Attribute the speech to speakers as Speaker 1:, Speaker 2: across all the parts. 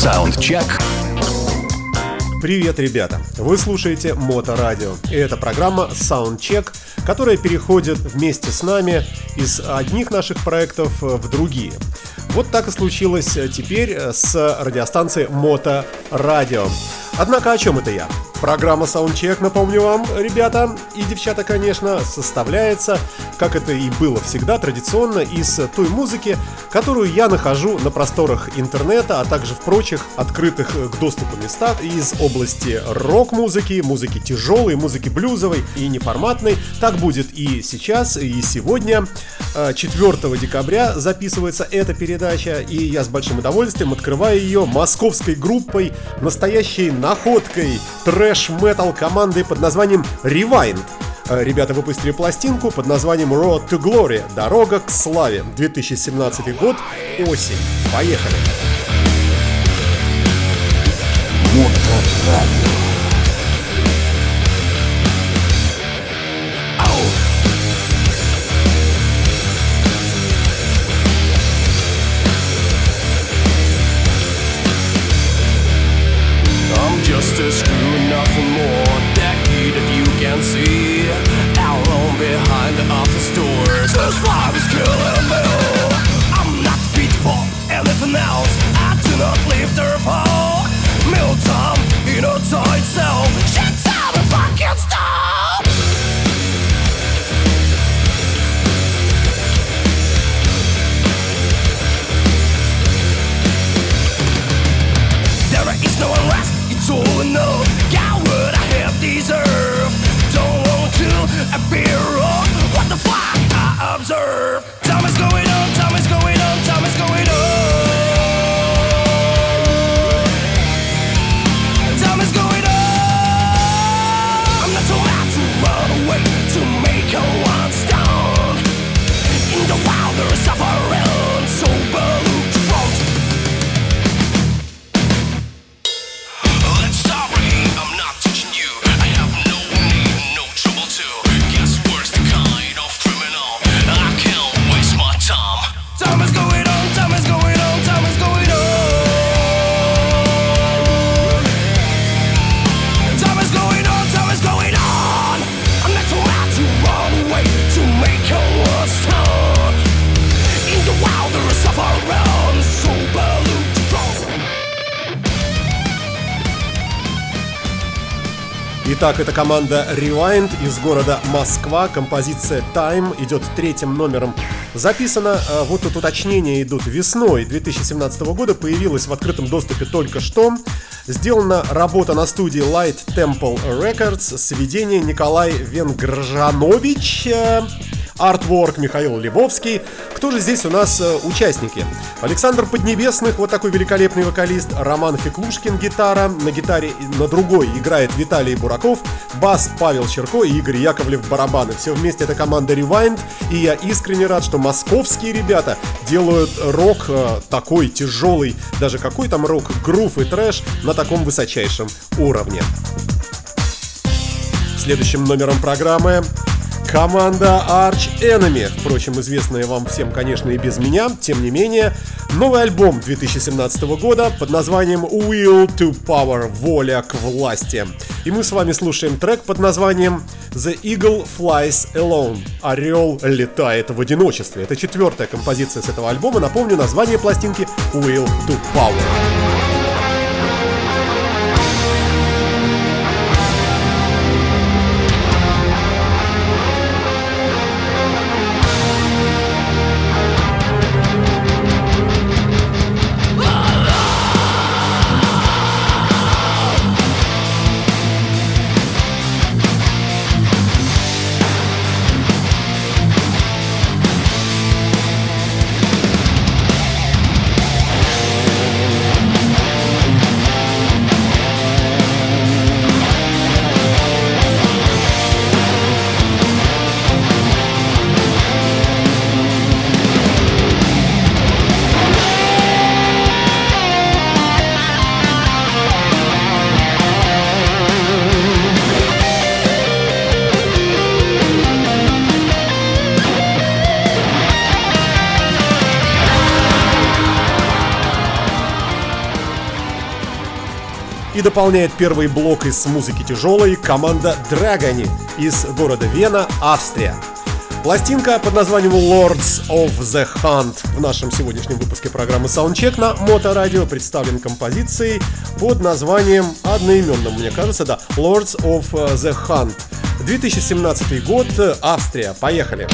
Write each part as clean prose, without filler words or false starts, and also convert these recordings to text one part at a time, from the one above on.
Speaker 1: Саундчек.
Speaker 2: Привет, ребята! Вы слушаете Моторадио, и это программа Soundcheck, которая переходит вместе с нами из одних наших проектов в другие. Вот так и случилось теперь с радиостанцией Моторадио. Однако о чем это я? Программа Soundcheck, напомню вам, ребята и девчата, конечно, составляется, как это и было всегда, традиционно, из той музыки, которую я нахожу на просторах интернета, а также в прочих открытых к доступу местах из области рок-музыки, музыки тяжелой, музыки блюзовой и неформатной. Так будет и сейчас, и сегодня. 4 декабря записывается эта передача, и я с большим удовольствием открываю ее московской группой, настоящей находкой трэш-метал команды под названием Rewind. Ребята выпустили пластинку под названием Road to Glory – Дорога к славе. 2017 год, осень. Поехали!
Speaker 1: Моторадио.
Speaker 3: Just a screw, nothing more. That kid, if you can see, alone behind the office doors. This life is killing me. I'm not fit for anything else. I do not leave the fall. Middle time, you know, to itself. Shut up if I can't stop. There is no unrest. It's all enough, got what I have deserved. Don't want to appear wrong. What the fuck I observe. Time is going on, time is going on, time is going on. Time is going on. I'm not too mad to run away, to make a one stand. In the wild there is suffering, so look to front. Time is going on, time is going on, time is going on. Time is going on, time is going on. I'm not too mad to run away, to make a one stand. In the wild there is suffering, so look to front.
Speaker 2: Итак, это команда Rewind из города Москва. Композиция Time идет третьим номером. Записано, вот тут уточнения идут, весной 2017 года, появилась в открытом доступе только что. Сделана работа на студии Light Temple Records, сведение Николай Венгржанович, артворк Михаил Лебовский. Кто же здесь у нас участники? Александр Поднебесных, вот такой великолепный вокалист. Роман Феклушкин, гитара. На гитаре на другой играет Виталий Бураков. Бас Павел Черко и Игорь Яковлев барабаны. Все вместе это команда Rewind. И я искренне рад, что московские ребята делают рок такой тяжелый, даже какой там рок, грув и трэш на таком высочайшем уровне. Следующим номером программы команда Arch Enemy, впрочем, известная вам всем, конечно, и без меня. Тем не менее, новый альбом 2017 года под названием Will to Power, воля к власти. И мы с вами слушаем трек под названием The Eagle Flies Alone, орел летает в одиночестве. Это 4-я композиция с этого альбома. Напомню, название пластинки Will to Power. И дополняет первый блок из музыки тяжелой команда Dragony из города Вена, Австрия. Пластинка под названием Lords of the Hunt в нашем сегодняшнем выпуске программы Soundcheck на Моторадио представлен композицией под названием одноименным, мне кажется, да, Lords of the Hunt. 2017 год, Австрия. Поехали!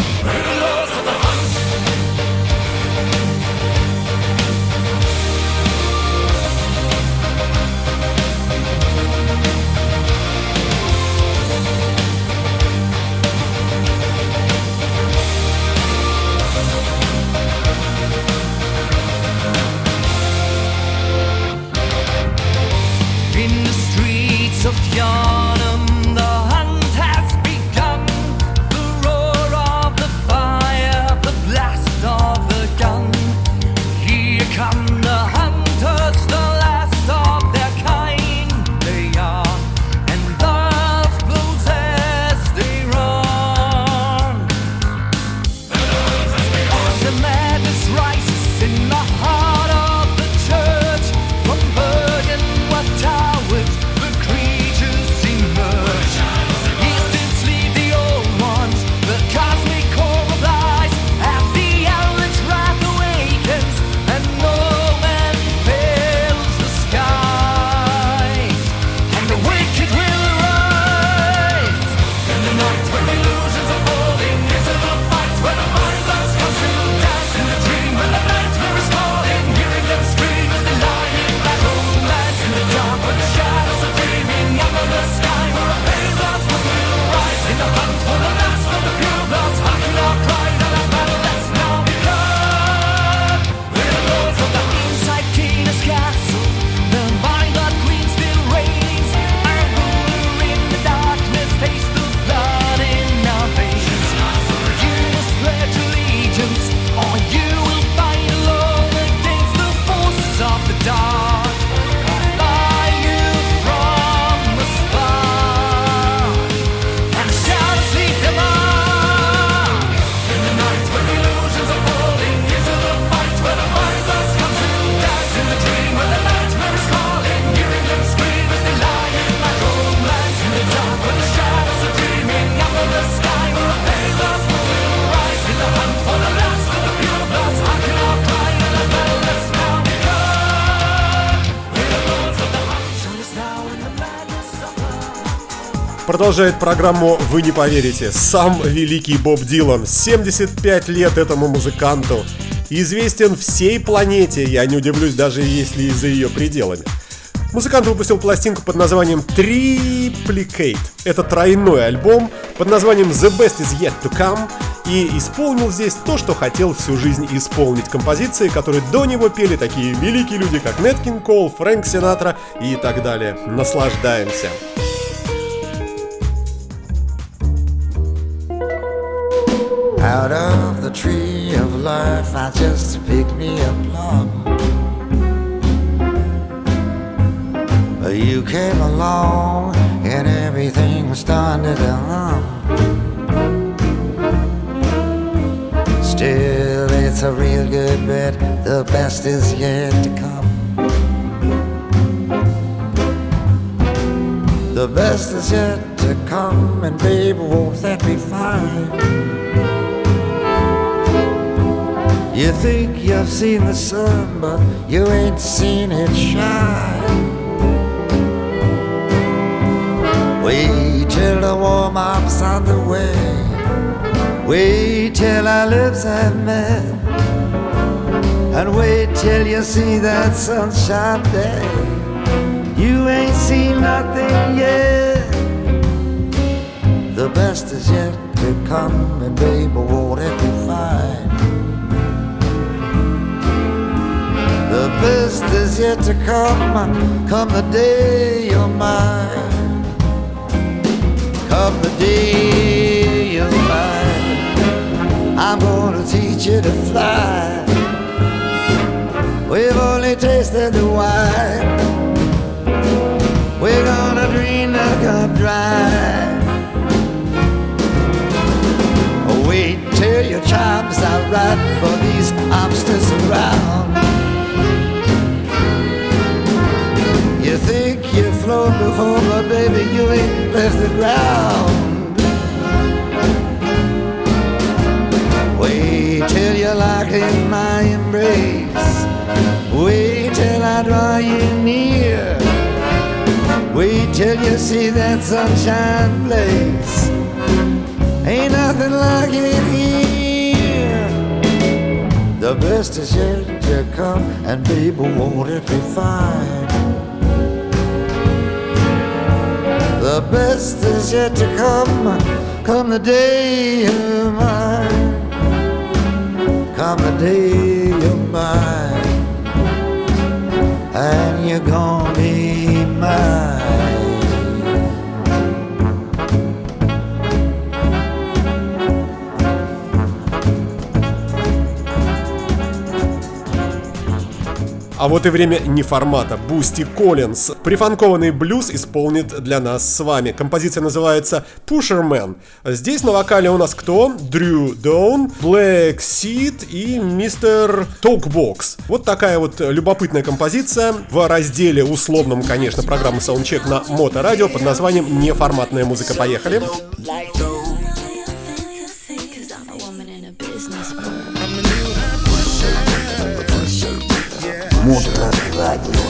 Speaker 3: Of Yarnum, the hunt has begun. The roar of the fire, the blast of the gun. Here come the hunters, the last of their kind. They are, and love blows as they run. The madness rises in the heart of the church. From Bergen-What towers
Speaker 2: Продолжает программу, вы не поверите, сам великий Боб Дилан. 75 лет этому музыканту. Известен всей планете, я не удивлюсь, даже если и за ее пределами. Музыкант выпустил пластинку под названием Triplicate. Это тройной альбом под названием The Best Is Yet To Come. И исполнил здесь то, что хотел всю жизнь исполнить. Композиции, которые до него пели такие великие люди, как Нэт Кинг Кол, Фрэнк Синатра и так далее. Наслаждаемся.
Speaker 1: Out of the tree of life I just picked me a plum. You came along and everything started to hum. Still it's a real good bet, the best is yet to come. The best is yet to come, and baby, won't that be fine? You think you've seen the sun, but you ain't seen it shine. Wait till the warm-up's on the way. Wait till our lips have met. And wait till you see that sunshine day. You ain't seen nothing yet. The best is yet to come, and baby, won't it be fine? The best is yet to come, come the day you're mine. Come the day you're mine, I'm gonna teach you to fly. We've only tasted the wine, we're gonna drain the cup dry. Wait till your charms are right for these armsters around. You think you floor before, but baby, you ain't left the ground. Wait till you lock in my embrace. Wait till I draw you near. Wait till you see that sunshine blaze. Ain't nothing like it here. The best is yet to come, and baby, won't it be fine? The best is yet to come, come the day you're mine. Come the day you're mine, and you're gonna be mine.
Speaker 2: А вот и время неформата. Бусти Коллинз. Прифанкованный блюз исполнит для нас с вами. Композиция называется Pusher Man. Здесь на вокале у нас кто? Дрю Доун, Black Seed и мистер Talkbox. Вот такая вот любопытная композиция в разделе условном, конечно, программы Soundcheck на Моторадио под названием «Неформатная музыка». Поехали!
Speaker 1: Моторадио.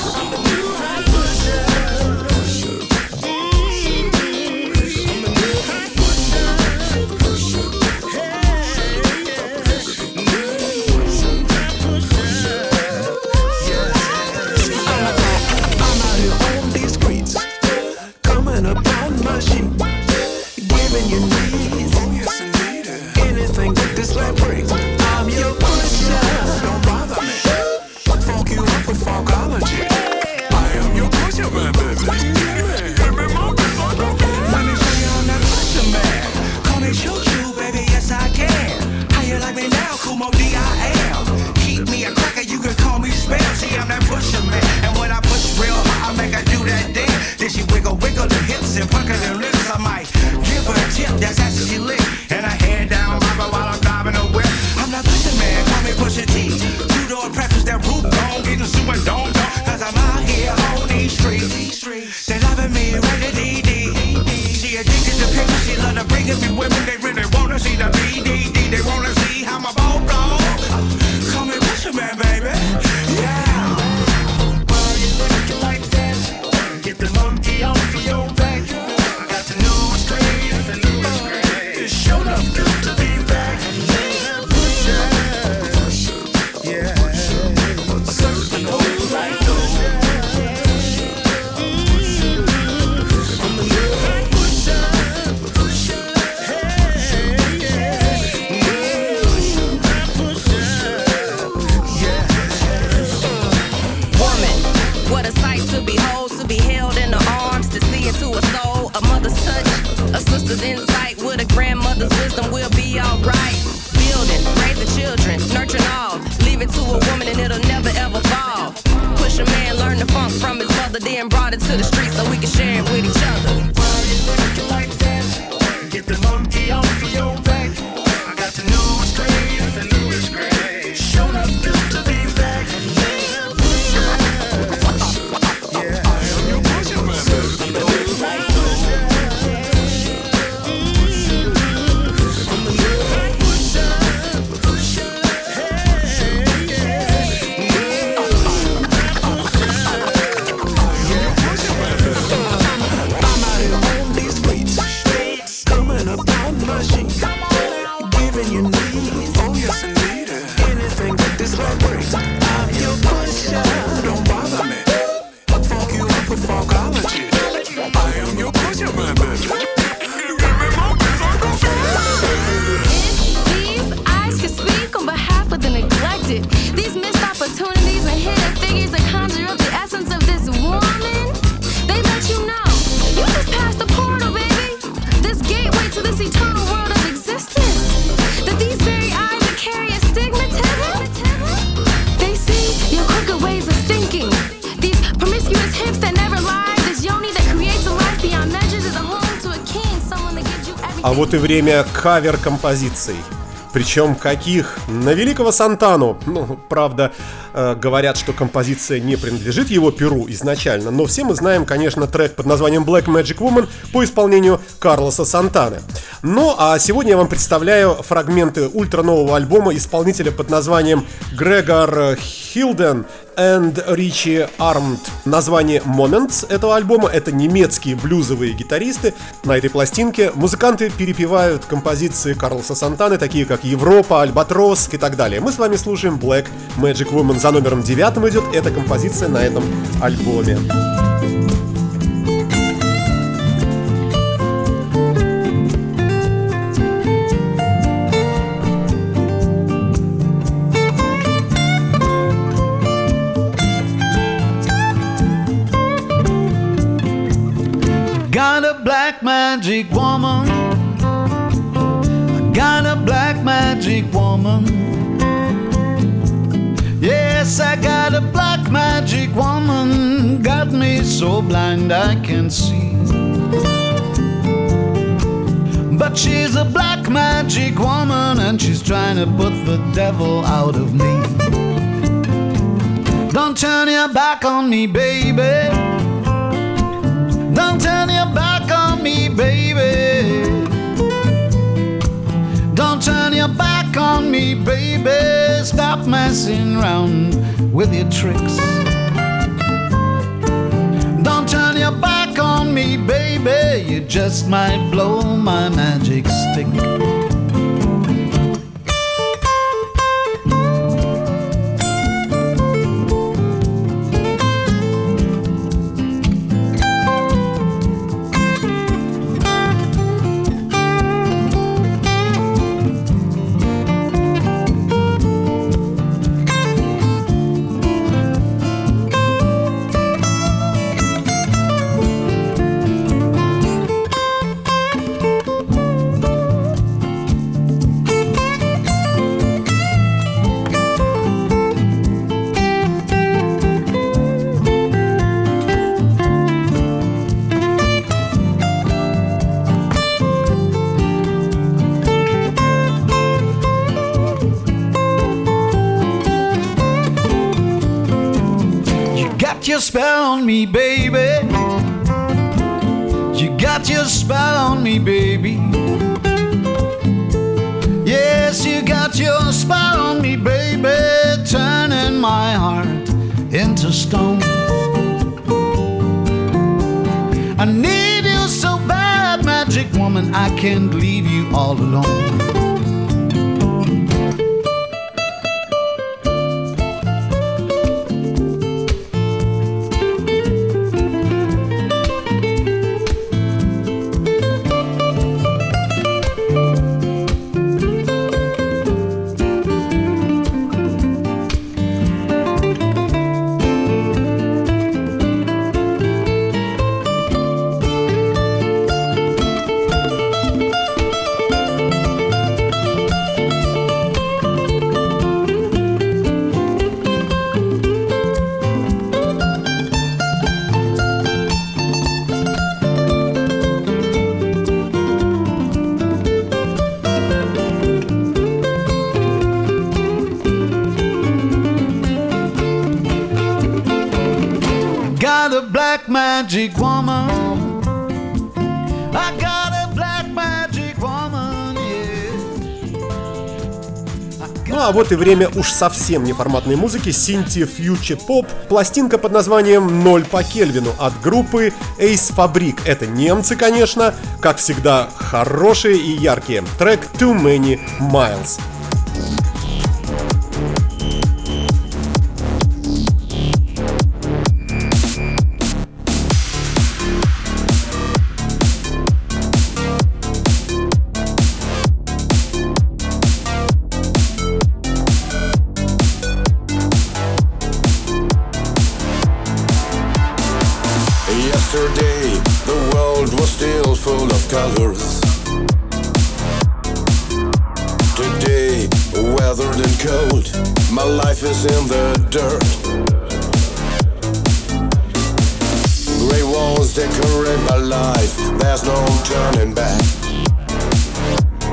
Speaker 2: А вот и время кавер-композиций. Причем каких? На великого Сантану. Ну, правда, говорят, что композиция не принадлежит его перу изначально, но все мы знаем, конечно, трек под названием Black Magic Woman по исполнению Карлоса Сантаны. Ну, а сегодня я вам представляю фрагменты ультра-нового альбома исполнителя под названием Грегор Хилден and Ричи Армд. Название Moments этого альбома — это немецкие блюзовые гитаристы. На этой пластинке музыканты перепевают композиции Карлоса Сантаны, такие как Европа, Альбатрос и так далее. Мы с вами слушаем Black Magic Woman. За номером 9 идет эта композиция на этом альбоме.
Speaker 4: Got a black magic woman. I got a black magic woman. Yes, I got a black magic woman. Got me so blind I can't see. But she's a black magic woman, and she's trying to put the devil out of me. Don't turn your back on me, baby. Don't turn your back on me, baby. Don't turn your back on me, baby. Stop messing around with your tricks. Don't turn your back on me, baby. You just might blow my magic stick. Your spell on me, baby. You got your spell on me, baby. Yes, you got your spell on me, baby. Turning my heart into stone. I need you so bad, magic woman. I can't leave you all alone. Magic woman, I got a black magic woman, yeah.
Speaker 2: Ну а вот и время уж совсем неформатной музыки, синти фьючер поп, пластинка под названием «0 по Кельвину» от группы Ace Fabric. Это немцы, конечно, как всегда хорошие и яркие. Трек Too Many Miles.
Speaker 3: Yesterday, the world was still full of colors. Today, weathered and cold, my life is in the dirt. Grey walls decorate my life, there's no turning back.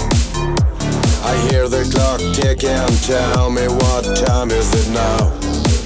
Speaker 3: I hear the clock tick and tell me what time is it now.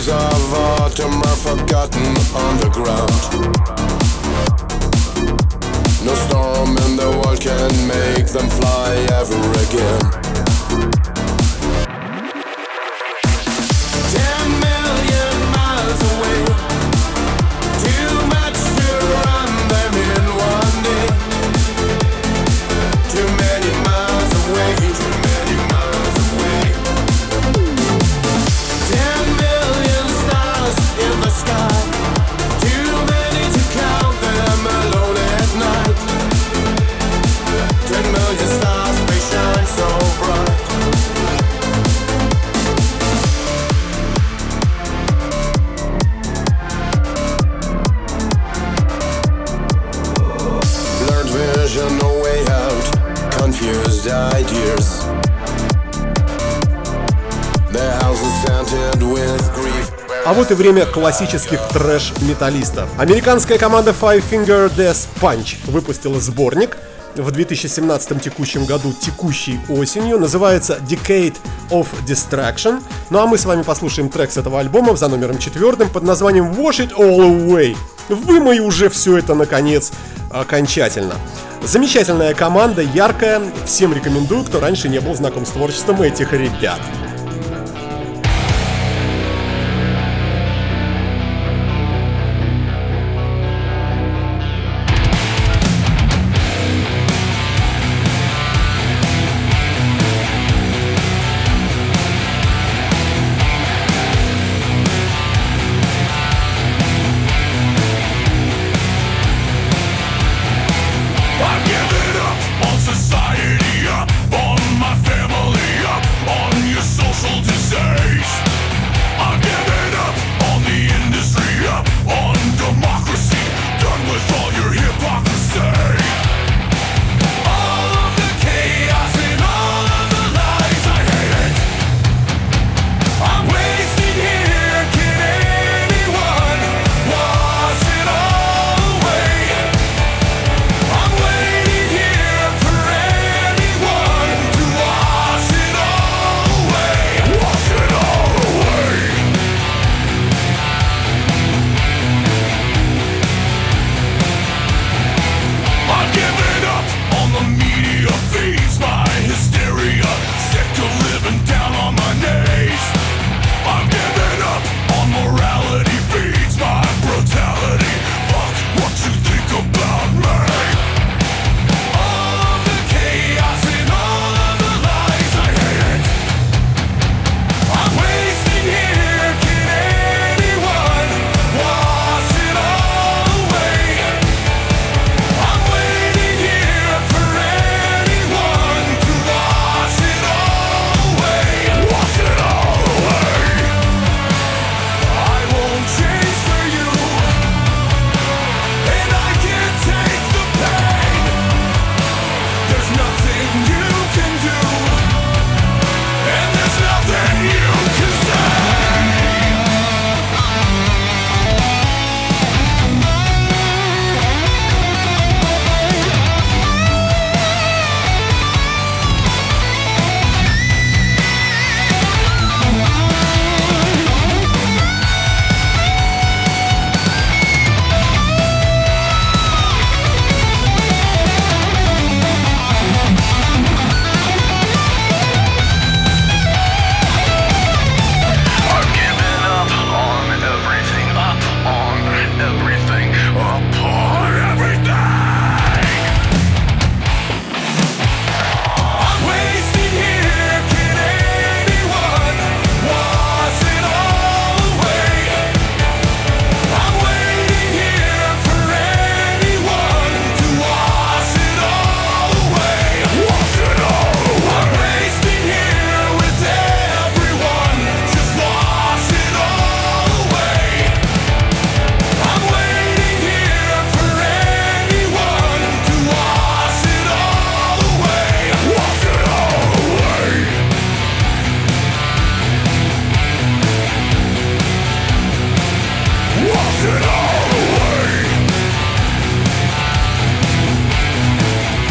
Speaker 3: days of autumn are forgotten on the ground. No storm in the world can make them fly ever again. 10 million miles away, too much to run them in one day. Too many miles away, too many miles away. 10 million stars in the sky, too many to count them alone at night. 10 million stars, they shine so bright. Blurred vision, no way out, confused ideas. The house is scented with grief.
Speaker 2: А вот и время классических трэш-металлистов. Американская команда Five Finger Death Punch выпустила сборник в 2017 текущем году, текущей осенью. Называется Decade of Distraction. Ну а мы с вами послушаем трек с этого альбома за номером 4 под названием Wash It All Away. Вымой уже все это, наконец, окончательно. Замечательная команда, яркая. Всем рекомендую, кто раньше не был знаком с творчеством этих ребят.
Speaker 3: I've given up on society, up on my family, up on your soul.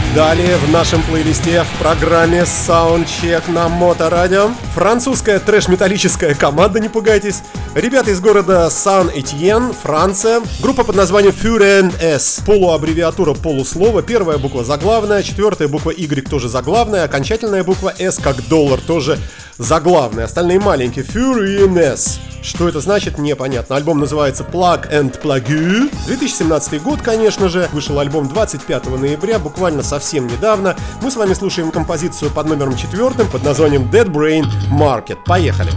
Speaker 2: Далее в нашем плейлисте в программе Soundcheck на Моторадио французская трэш-металлическая команда, не пугайтесь. Ребята из города Сан-Этьен, Франция. Группа под названием Fur S. Полуаббревиатура полуслова. Первая буква заглавная, четвертая буква Y тоже заглавная, окончательная буква S как доллар тоже заглавная. Остальные маленькие. Fur S. Что это значит, непонятно. Альбом называется Plug and Plague. 2017 год, конечно же. Вышел альбом 25 ноября, буквально совсем недавно. Мы с вами слушаем композицию под номером 4 под названием Dead Brain Market. Поехали!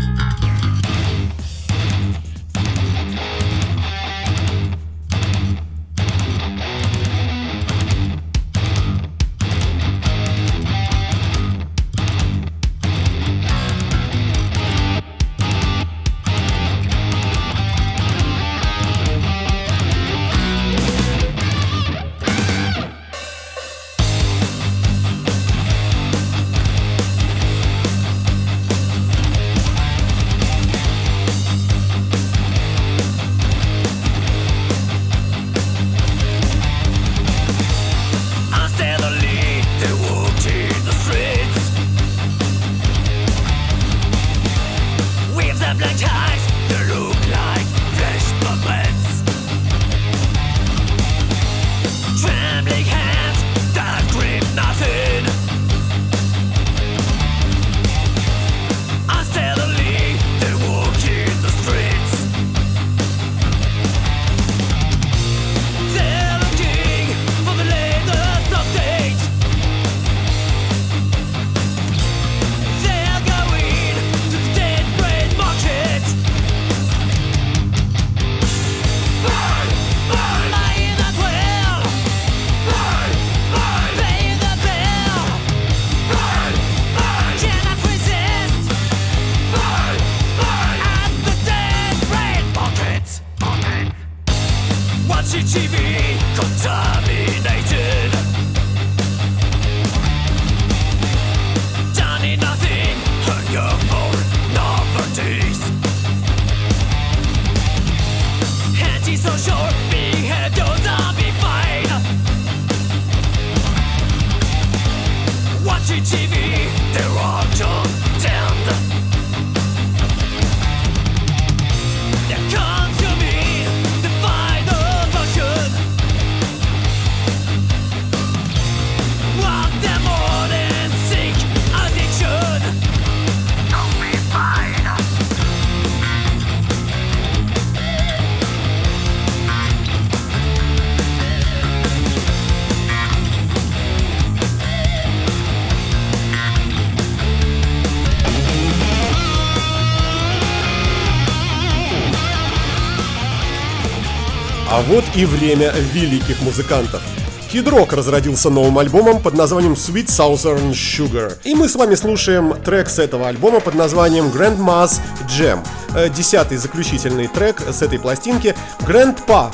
Speaker 2: А вот и время великих музыкантов. Kid Rock разродился новым альбомом под названием Sweet Southern Sugar. И мы с вами слушаем трек с этого альбома под названием Grandma's Jam. 10-й заключительный трек с этой пластинки. Grandpa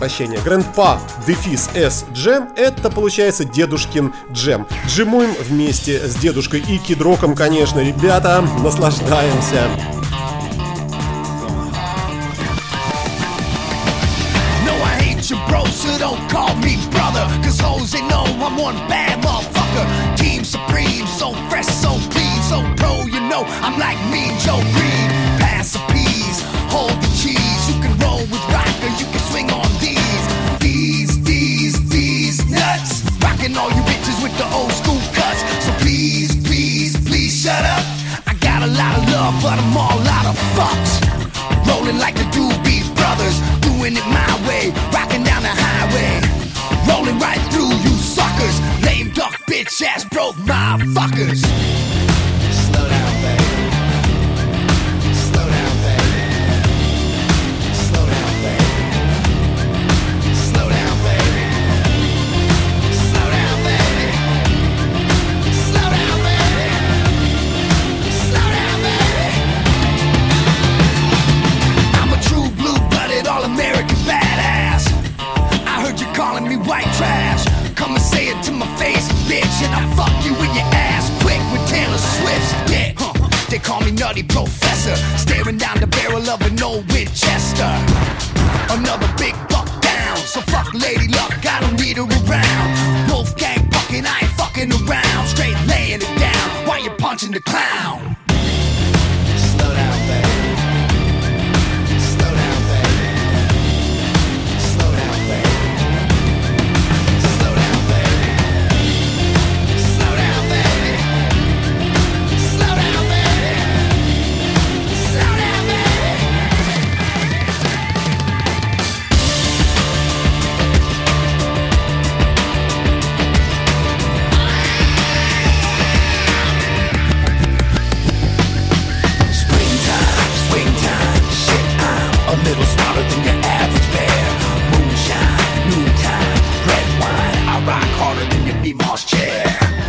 Speaker 2: дефис S Jam, это получается дедушкин джем. Джимуем вместе с дедушкой и Kid Rock'ом, конечно, ребята, наслаждаемся.
Speaker 5: Bro, so don't call me brother, cause hoes they know I'm one bad motherfucker. Team supreme, so fresh, so clean, so pro, you know I'm like me and Joe Green. Pass the peas, hold the cheese. You can roll with rocker, you can swing on these nuts. Rocking all you bitches with the old school cuts. So please shut up. I got a lot of love, but I'm all out of fucks. Rolling like the Doobie Brothers, doing it my way, rocking down the highway, rolling right through you suckers, lame duck bitch ass broke motherfuckers. Slow down, baby. Slow down, baby. Slow down, baby. Slow down, baby. Slow down, baby. Slow down, baby. Slow down, baby. I'm a true blue-blooded all-American badass. I heard you calling me white trash. Come and say it to my face, bitch, and I'll fuck you in your ass quick with Taylor Swift's dick. They call me Nutty Professor, staring down the barrel of an old Winchester. Another big buck down, so fuck Lady Luck, I don't need her around. Wolfgang bucking the clown. Slow down, baby. Slow down, baby. Slow down, baby. Slow down, baby. Slow down, baby. Slow down, baby. Slow down, baby. A little smarter than your average bear. Moonshine, noontime, red wine. I rock harder than your Mimas chair.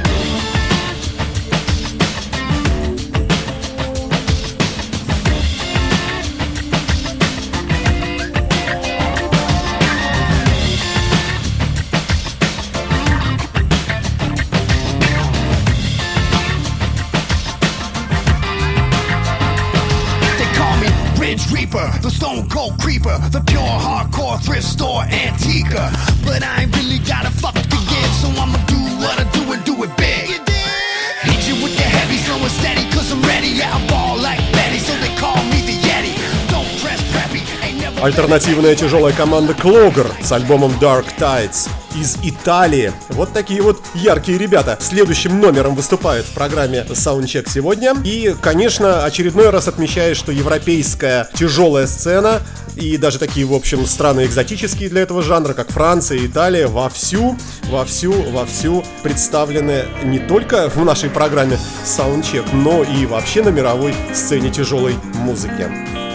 Speaker 5: Reaper, the stone cold creeper, the pure hardcore thrift store antiquer. But I ain't really got a fuck to give, so I'ma do what I do and do it big. Hit you with the heavy, slow and steady, cause I'm ready. Yeah, I ball like Betty, so they call me the Yeti. Don't dress preppy, ain't never.
Speaker 2: Альтернативная тяжелая команда Clogger с альбомом Dark Tides из Италии. Вот такие вот яркие ребята. Следующим номером выступают в программе Soundcheck сегодня. И, конечно, очередной раз отмечаю, что европейская тяжелая сцена и даже такие, в общем, страны экзотические для этого жанра, как Франция и Италия, вовсю представлены не только в нашей программе Soundcheck, но и вообще на мировой сцене тяжелой музыки.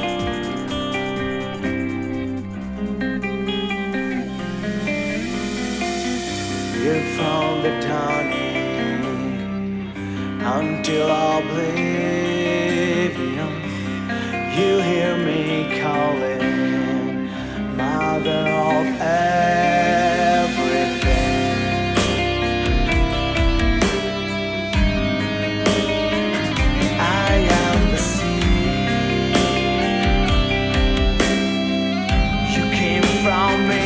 Speaker 6: From the dawning until oblivion, you hear me calling, Mother of everything. I am the sea. You came from me.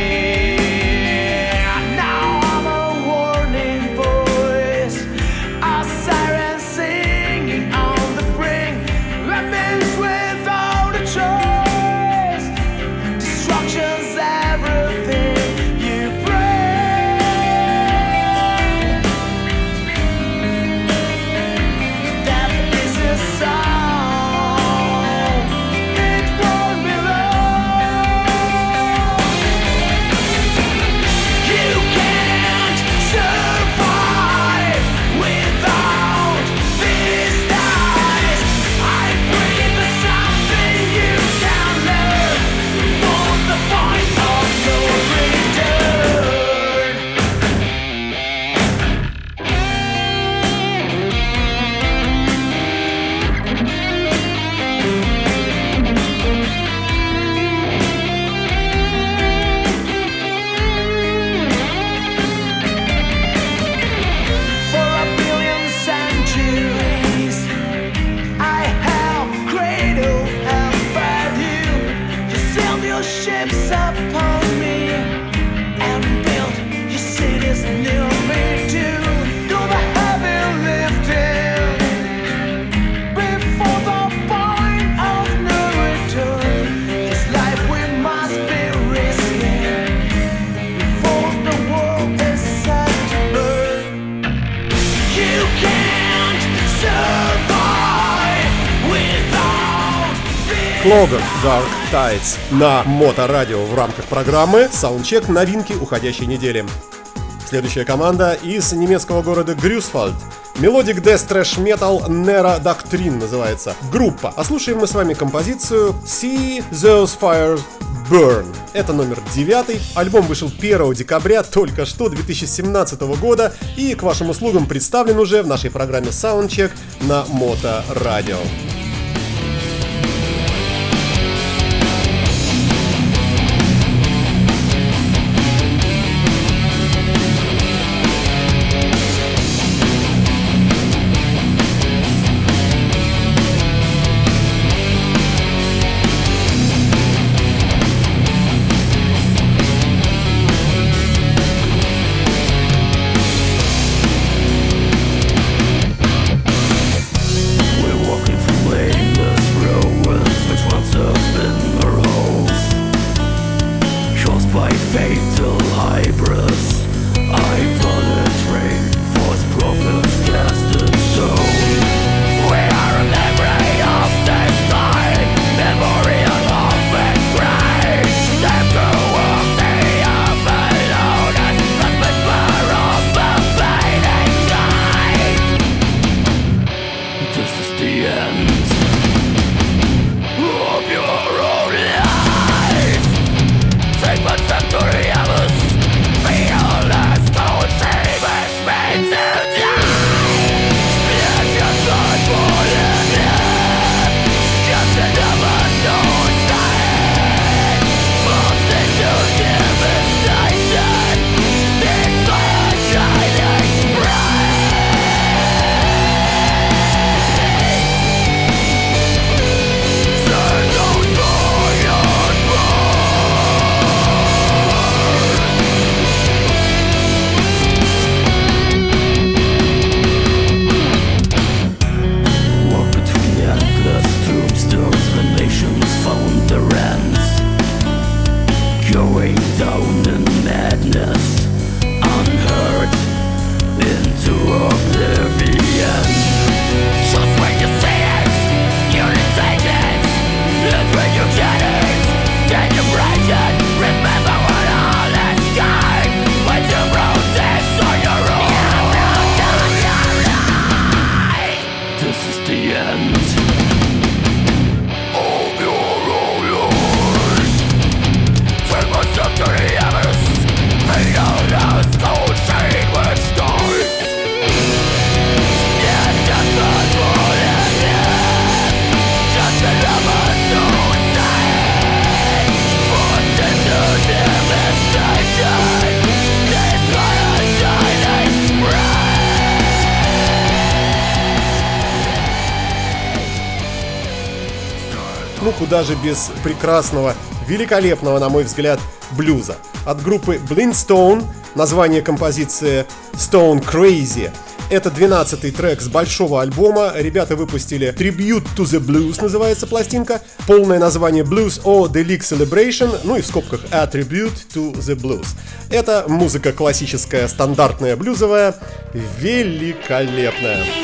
Speaker 2: Clogger, Dark Tides на Моторадио в рамках программы Soundcheck новинки уходящей недели. Следующая команда из немецкого города Грюсвальд. Melodic Death Thrash Metal Nera Doctrine называется группа. А слушаем мы с вами композицию See Those Fires Burn. Это номер 9. Альбом вышел 1 декабря только что 2017 года и к вашим услугам представлен уже в нашей программе Soundcheck на Моторадио. Ну куда же без прекрасного, великолепного, на мой взгляд, блюза. От группы Blind Stone, название композиции Stone Crazy. Это 12-й трек с большого альбома. Ребята выпустили Tribute to the Blues, называется пластинка. Полное название Blues or Deluxe Celebration, ну и в скобках A Tribute to the Blues. Это музыка классическая, стандартная, блюзовая, великолепная.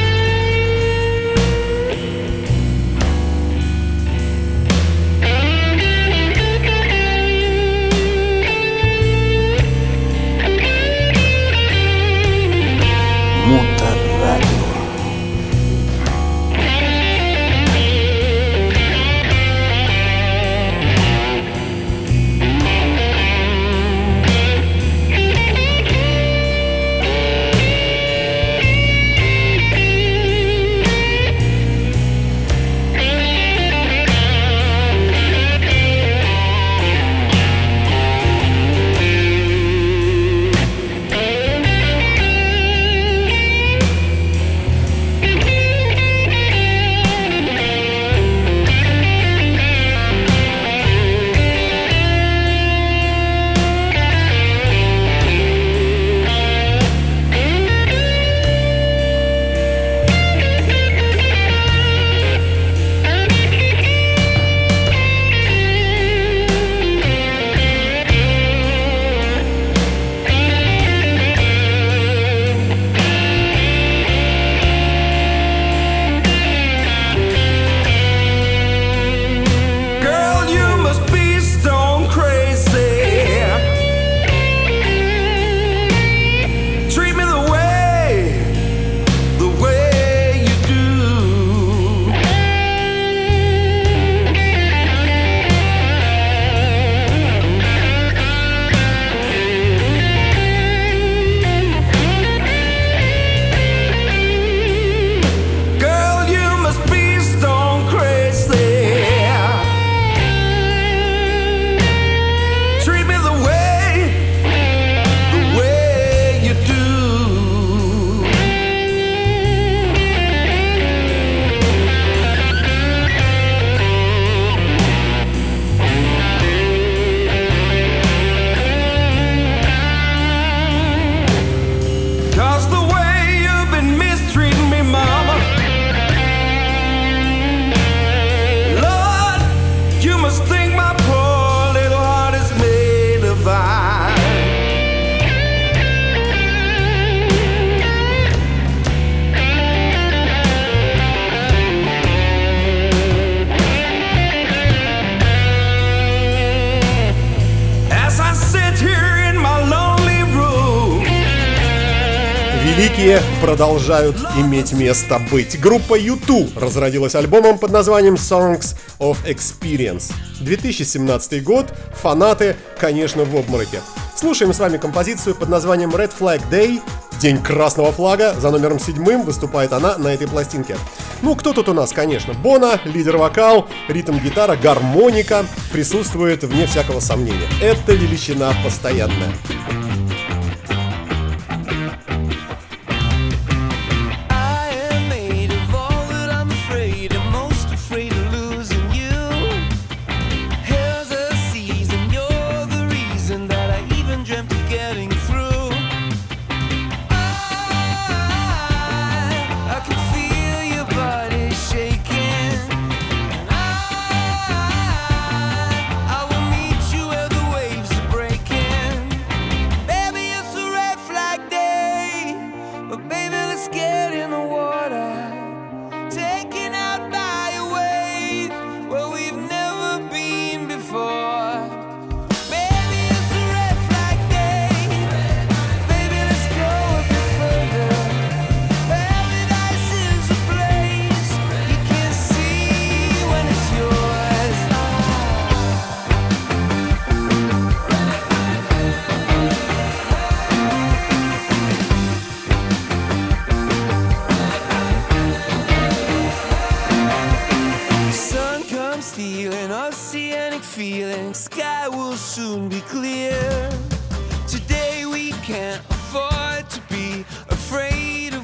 Speaker 2: Великие продолжают иметь место быть. Группа U2 разродилась альбомом под названием Songs of Experience. 2017 год, фанаты, конечно, в обмороке. Слушаем с вами композицию под названием Red Flag Day, День красного флага, за номером 7 выступает она на этой пластинке. Ну, кто тут у нас, конечно? Бона, лидер-вокал, ритм-гитара, гармоника присутствует вне всякого сомнения. Это величина постоянная.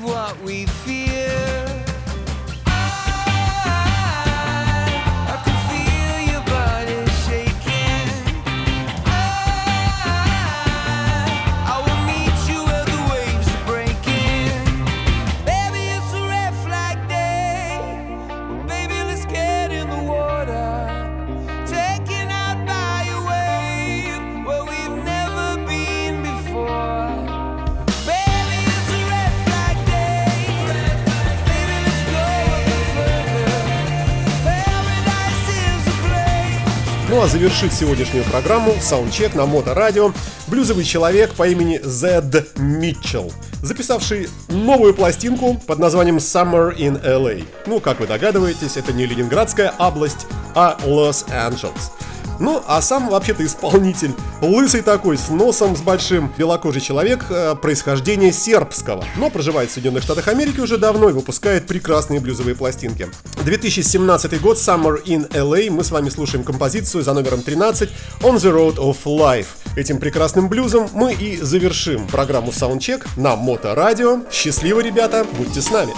Speaker 7: I can
Speaker 2: Ну а завершит сегодняшнюю программу саундчек на Моторадио блюзовый человек по имени Зед Митчелл, записавший новую пластинку под названием Summer in LA. Ну, как вы догадываетесь, это не Ленинградская область, а Лос-Анджелес. Ну, а сам вообще-то исполнитель лысый такой, с носом, с большим, белокожий человек, происхождения сербского, но проживает в Соединенных Штатах Америки уже давно и выпускает прекрасные блюзовые пластинки. 2017 год, Summer in LA, мы с вами слушаем композицию за номером 13 On the Road of Life. Этим прекрасным блюзом мы и завершим программу Soundcheck на Моторадио. Счастливо, ребята, будьте с нами!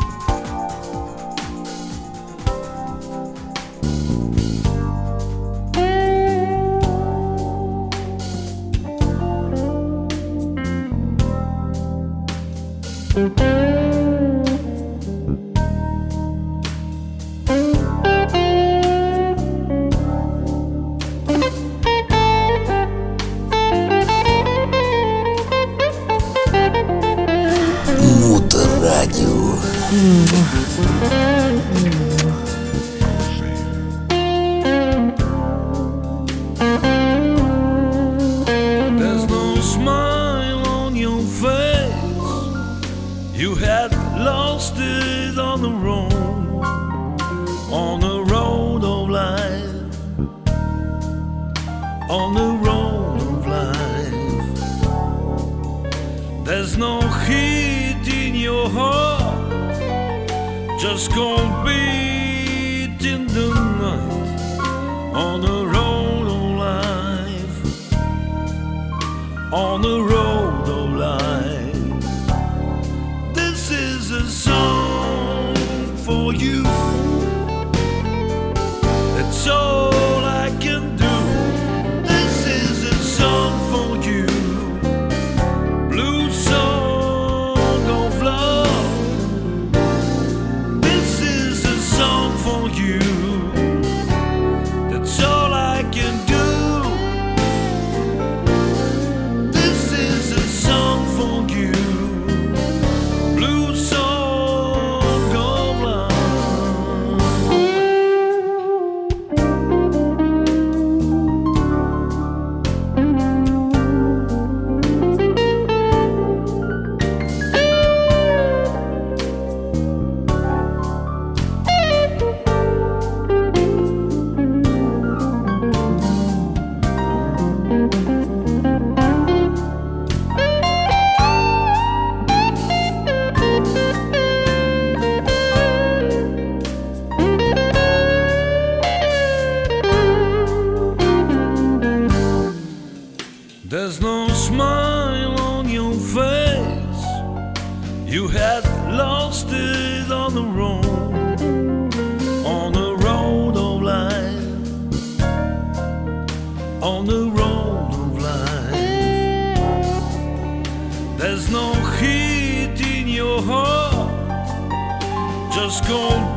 Speaker 3: There's no smile on your face. You had lost it on the road of life, on the road of life. There's no heat in your heart, just cold